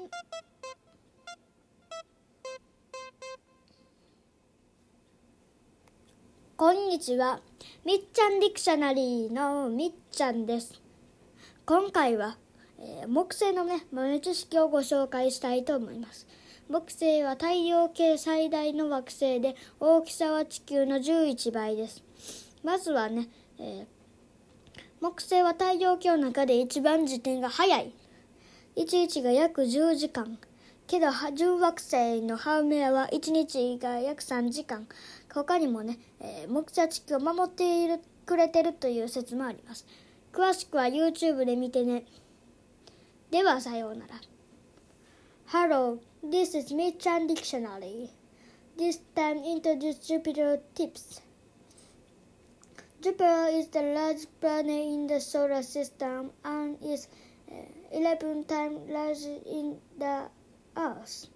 こんにちは。みっちゃんディクショナリーのみっちゃんです。今回は、木星の豆知識をご紹介したいと思います。木星は太陽系最大の惑星で、大きさは地球の11倍です。まずは木星は太陽系の中で一番自転が速い。1日が約10時間。けど準惑星のハウメアは1日が約3時間。他にも木星は地球を守ってくれてるという説もあります。詳しくは YouTube で見てね。ではさようなら。Hello, this is Michan Dictionary. This time introduce Jupiter tips. Jupiter is the largest planet in the solar system and is 11 times larger in the Earth.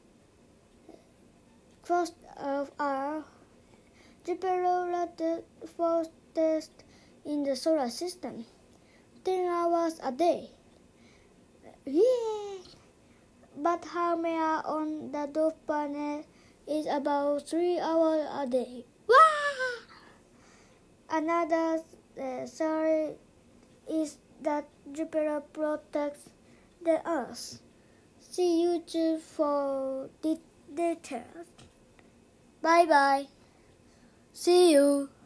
First of all, Jupiter is the fastest in the solar system, 10 hours a day. Yeah. But Haumea on the dwarf planet is about 3 hours a day. Wow! Another theory is that Jupiter protects the Earth. See YouTube for details. Bye bye. See you.